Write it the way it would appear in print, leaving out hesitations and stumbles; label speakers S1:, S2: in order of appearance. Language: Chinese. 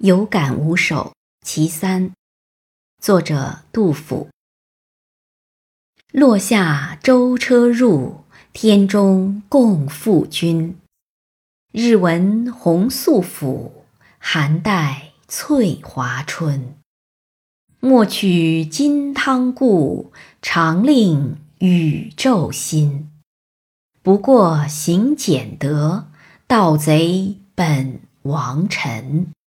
S1: 有感五首其三，作者杜甫。落下舟车入，天中共赴君。日闻红素府，寒带翠华春。莫取金汤故，常令宇宙新。不过行俭德，盗贼本王臣。